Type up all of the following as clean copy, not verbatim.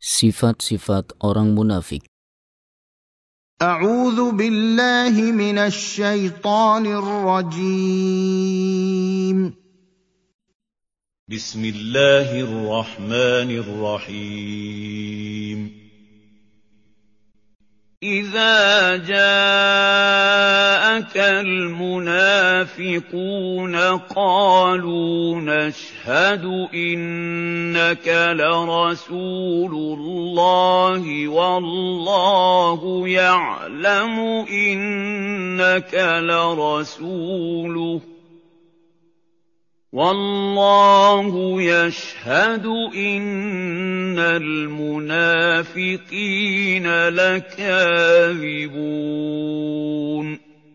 Sifat-sifat orang munafik. A'udzu billahi minasy syaithanir rajim. Bismillahirrahmanirrahim. إذا جاءك المنافقون قالوا نشهد إنك لرسول الله والله يعلم إنك لرسوله والله يشهد إن المنافقين لكاذبون.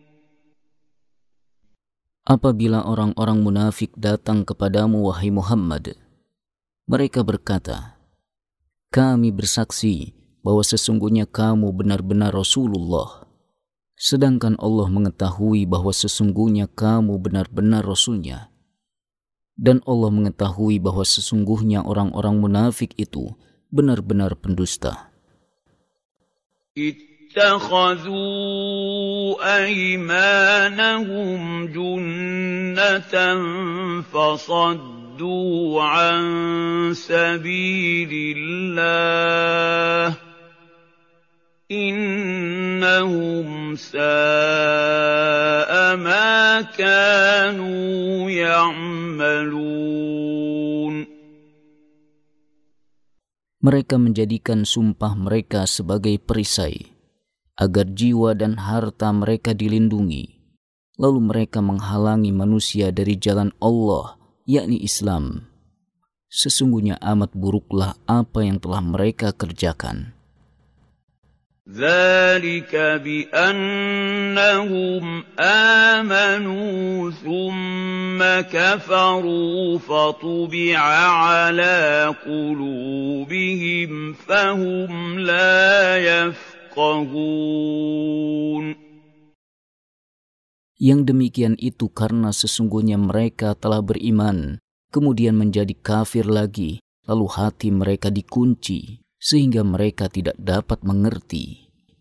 Apabila orang-orang munafik datang kepadamu, wahai Muhammad, mereka berkata, kami bersaksi bahwa sesungguhnya kamu benar-benar Rasulullah, sedangkan Allah mengetahui bahwa sesungguhnya kamu benar-benar Rasulnya. Dan Allah mengetahui bahwa sesungguhnya orang-orang munafik itu benar-benar pendusta. Ittakhadhu aymanahum junnatan fasaddu an sabilillah. Innahum sa'a ma kanu ya'malun. Mereka menjadikan sumpah mereka sebagai perisai, agar jiwa dan harta mereka dilindungi. Lalu mereka menghalangi manusia dari jalan Allah, yakni Islam. Sesungguhnya amat buruklah apa yang telah mereka kerjakan. ذلك بأنهم آمنوا ثم كفروا فطبع على قلوبهم فهم لا يفقهون. Yang demikian itu karena sesungguhnya mereka telah beriman, kemudian menjadi kafir lagi, lalu hati mereka dikunci, sehingga mereka tidak dapat mengerti.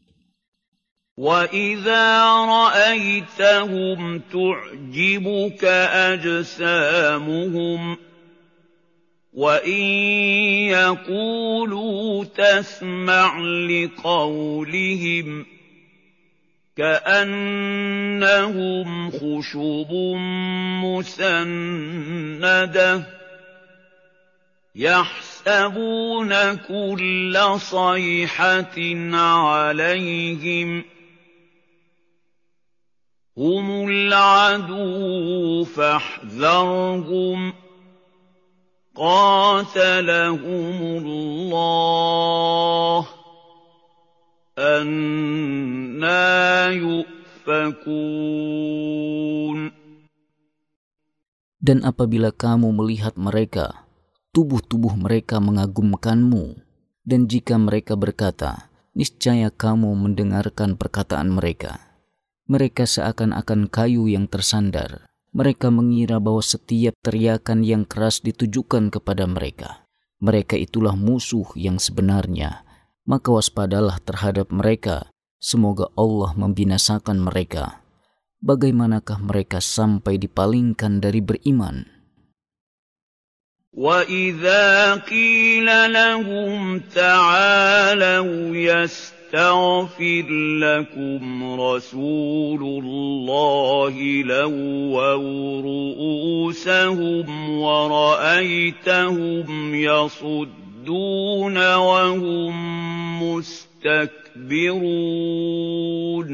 وَإِذَا رَأَيْتَهُمْ تُعْجِبُكَ أَجْسَامُهُمْ وَإِنْ يَقُولُوا تَسْمَعْ لِقَوْلِهِمْ كَأَنَّهُمْ خُشُبٌ مُّسَنَّدَةٌ يَحْسَبُونَ كُلَّ صَيْحَةٍ عَلَيْهِمْ هُمُ الْعَدُوُّ فَاحْذَرْهُمْ قَاتَلَهُمُ اللَّهُ أَنَّىٰ يُؤْفَكُونَ. Dan apabila kamu melihat mereka, tubuh-tubuh mereka mengagumkanmu, dan jika mereka berkata, niscaya kamu mendengarkan perkataan mereka. Mereka seakan-akan kayu yang tersandar. Mereka mengira bahwa setiap teriakan yang keras ditujukan kepada mereka. Mereka itulah musuh yang sebenarnya. Maka waspadalah terhadap mereka. Semoga Allah membinasakan mereka. Bagaimanakah mereka sampai dipalingkan dari beriman? وَإِذَا قِيلَ لَهُمْ تَعَالَوْا يَسْتَغْفِرْ لَكُمْ رَسُولُ اللَّهِ لَوَّوْا رُءُوسَهُمْ وَرَأَيْتَهُمْ يَصُدُّونَ وَهُمْ مُسْتَكْبِرُونَ.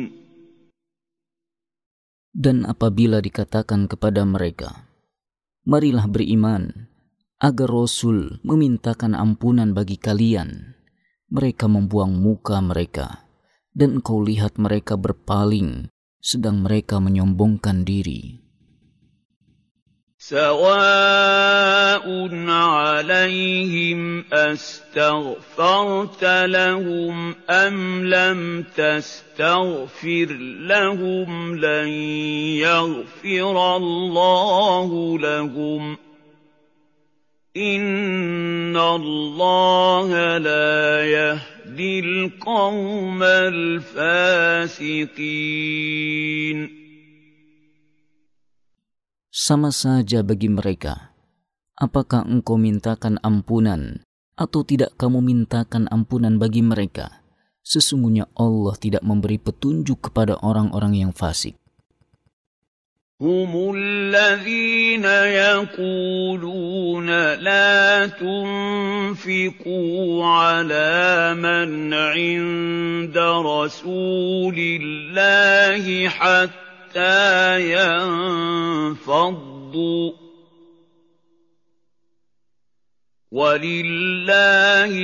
Dan apabila dikatakan kepada mereka, marilah beriman, agar Rasul memintakan ampunan bagi kalian, mereka membuang muka mereka, dan engkau lihat mereka berpaling, sedang mereka menyombongkan diri. سواء عليهم أستغفرت لهم أم لم تستغفر لهم لن يغفر الله لهم إِنَّ اللَّهَ لَا يَهْدِي الْقَوْمَ الْفَاسِقِينَ. Sama saja bagi mereka. Apakah engkau mintakan ampunan atau tidak kamu mintakan ampunan bagi mereka? Sesungguhnya Allah tidak memberi petunjuk kepada orang-orang yang fasik. هم الذين يقولون لا تنفقوا على من عند رسول الله حتى ينفضوا ولله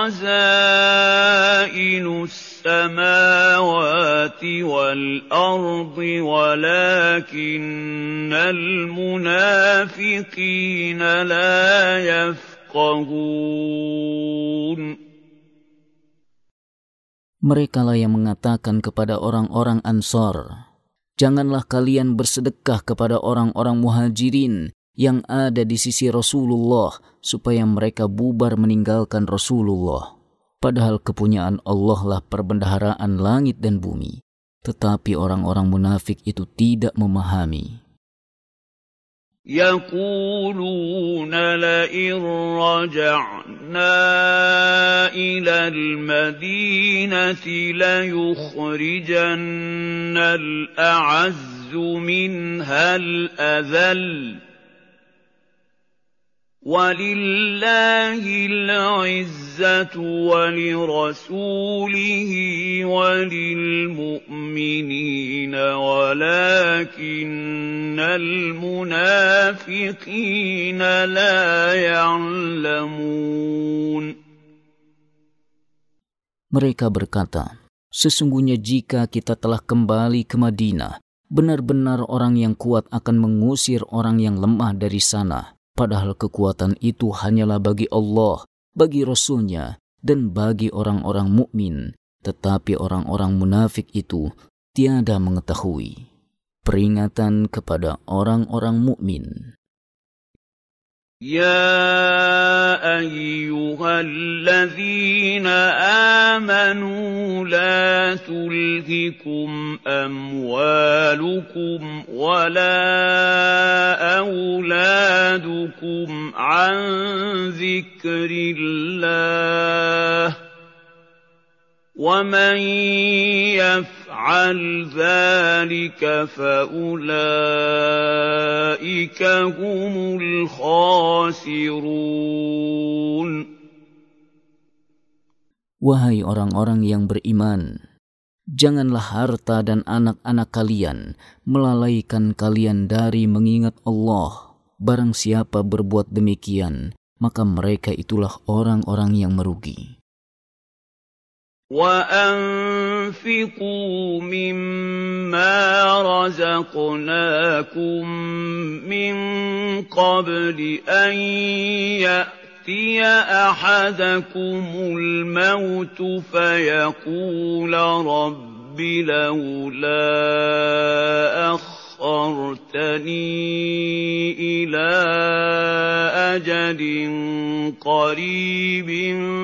خزائن السماوات والأرض ولكن المنافقين لا يفقهون. Merekalah yang mengatakan kepada orang-orang Ansar, janganlah kalian bersedekah kepada orang-orang Muhajirin yang ada di sisi Rasulullah supaya mereka bubar meninggalkan Rasulullah. Padahal kepunyaan Allah lah perbendaharaan langit dan bumi. Tetapi orang-orang munafik itu tidak memahami. يقولون لئن رجعنا إلى المدينة ليخرجن الأعز منها الأذل وَلِلَّهِ الْعِزَّةُ وَلِرَسُولِهِ وَلِلْمُؤْمِنِينَ وَلَكِنَّ الْمُنَافِقِينَ لَا يَعْلَمُونَ. Mereka berkata, sesungguhnya jika kita telah kembali ke Madinah, benar-benar orang yang kuat akan mengusir orang yang lemah dari sana. Padahal kekuatan itu hanyalah bagi Allah, bagi Rasul-Nya, dan bagi orang-orang mukmin. Tetapi orang-orang munafik itu tiada mengetahui. Peringatan kepada orang-orang mukmin. يا أيها الذين آمنوا لا تلهكم أموالكم ولا أولادكم عن ذكر الله ومن يفعل ذلك فأولئك هم الخاسرون. Wahai orang-orang yang beriman, janganlah harta dan anak-anak kalian melalaikan kalian dari mengingat Allah. Barang siapa berbuat demikian, maka mereka itulah orang-orang yang merugi. وَأَنفِقُوا مِمَّا رَزَقْنَاكُم مِّن قَبْلِ أَن يَأْتِيَ أَحَدَكُمُ الْمَوْتُ فَيَقُولَ رَبِّ لَوْلَا أَخَّرْتَنِي إِلَىٰ أَجَلٍ قَرِيبٍ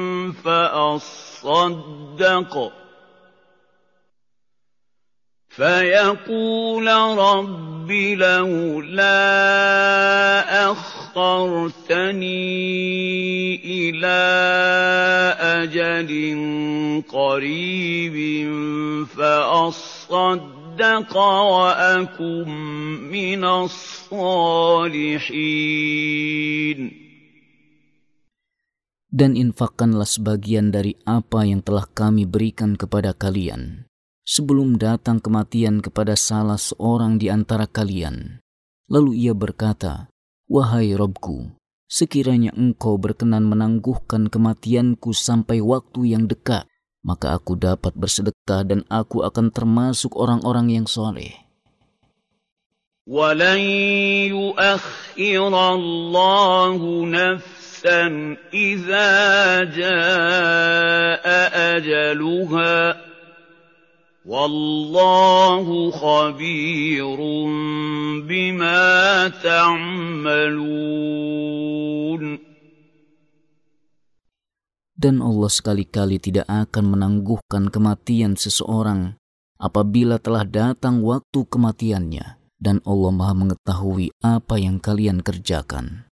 فيقول رب لولا أخرتني إلى أجل قريب فأصدق وأكن من الصالحين. Dan infakkanlah sebagian dari apa yang telah kami berikan kepada kalian, sebelum datang kematian kepada salah seorang di antara kalian. Lalu ia berkata, wahai Rabbku, sekiranya engkau berkenan menangguhkan kematianku sampai waktu yang dekat, maka aku dapat bersedekah dan aku akan termasuk orang-orang yang soleh. وَلَنْ يُؤَخِّرَ اللَّهُ نَفْسًا إِذَا جَاءَ أَجَلُهَا وَاللَّهُ خَبِيرٌ بِمَا تَعْمَلُونَ. Dan Allah sekali-kali tidak akan menangguhkan kematian seseorang apabila telah datang waktu kematiannya. Dan Allah Maha mengetahui apa yang kalian kerjakan.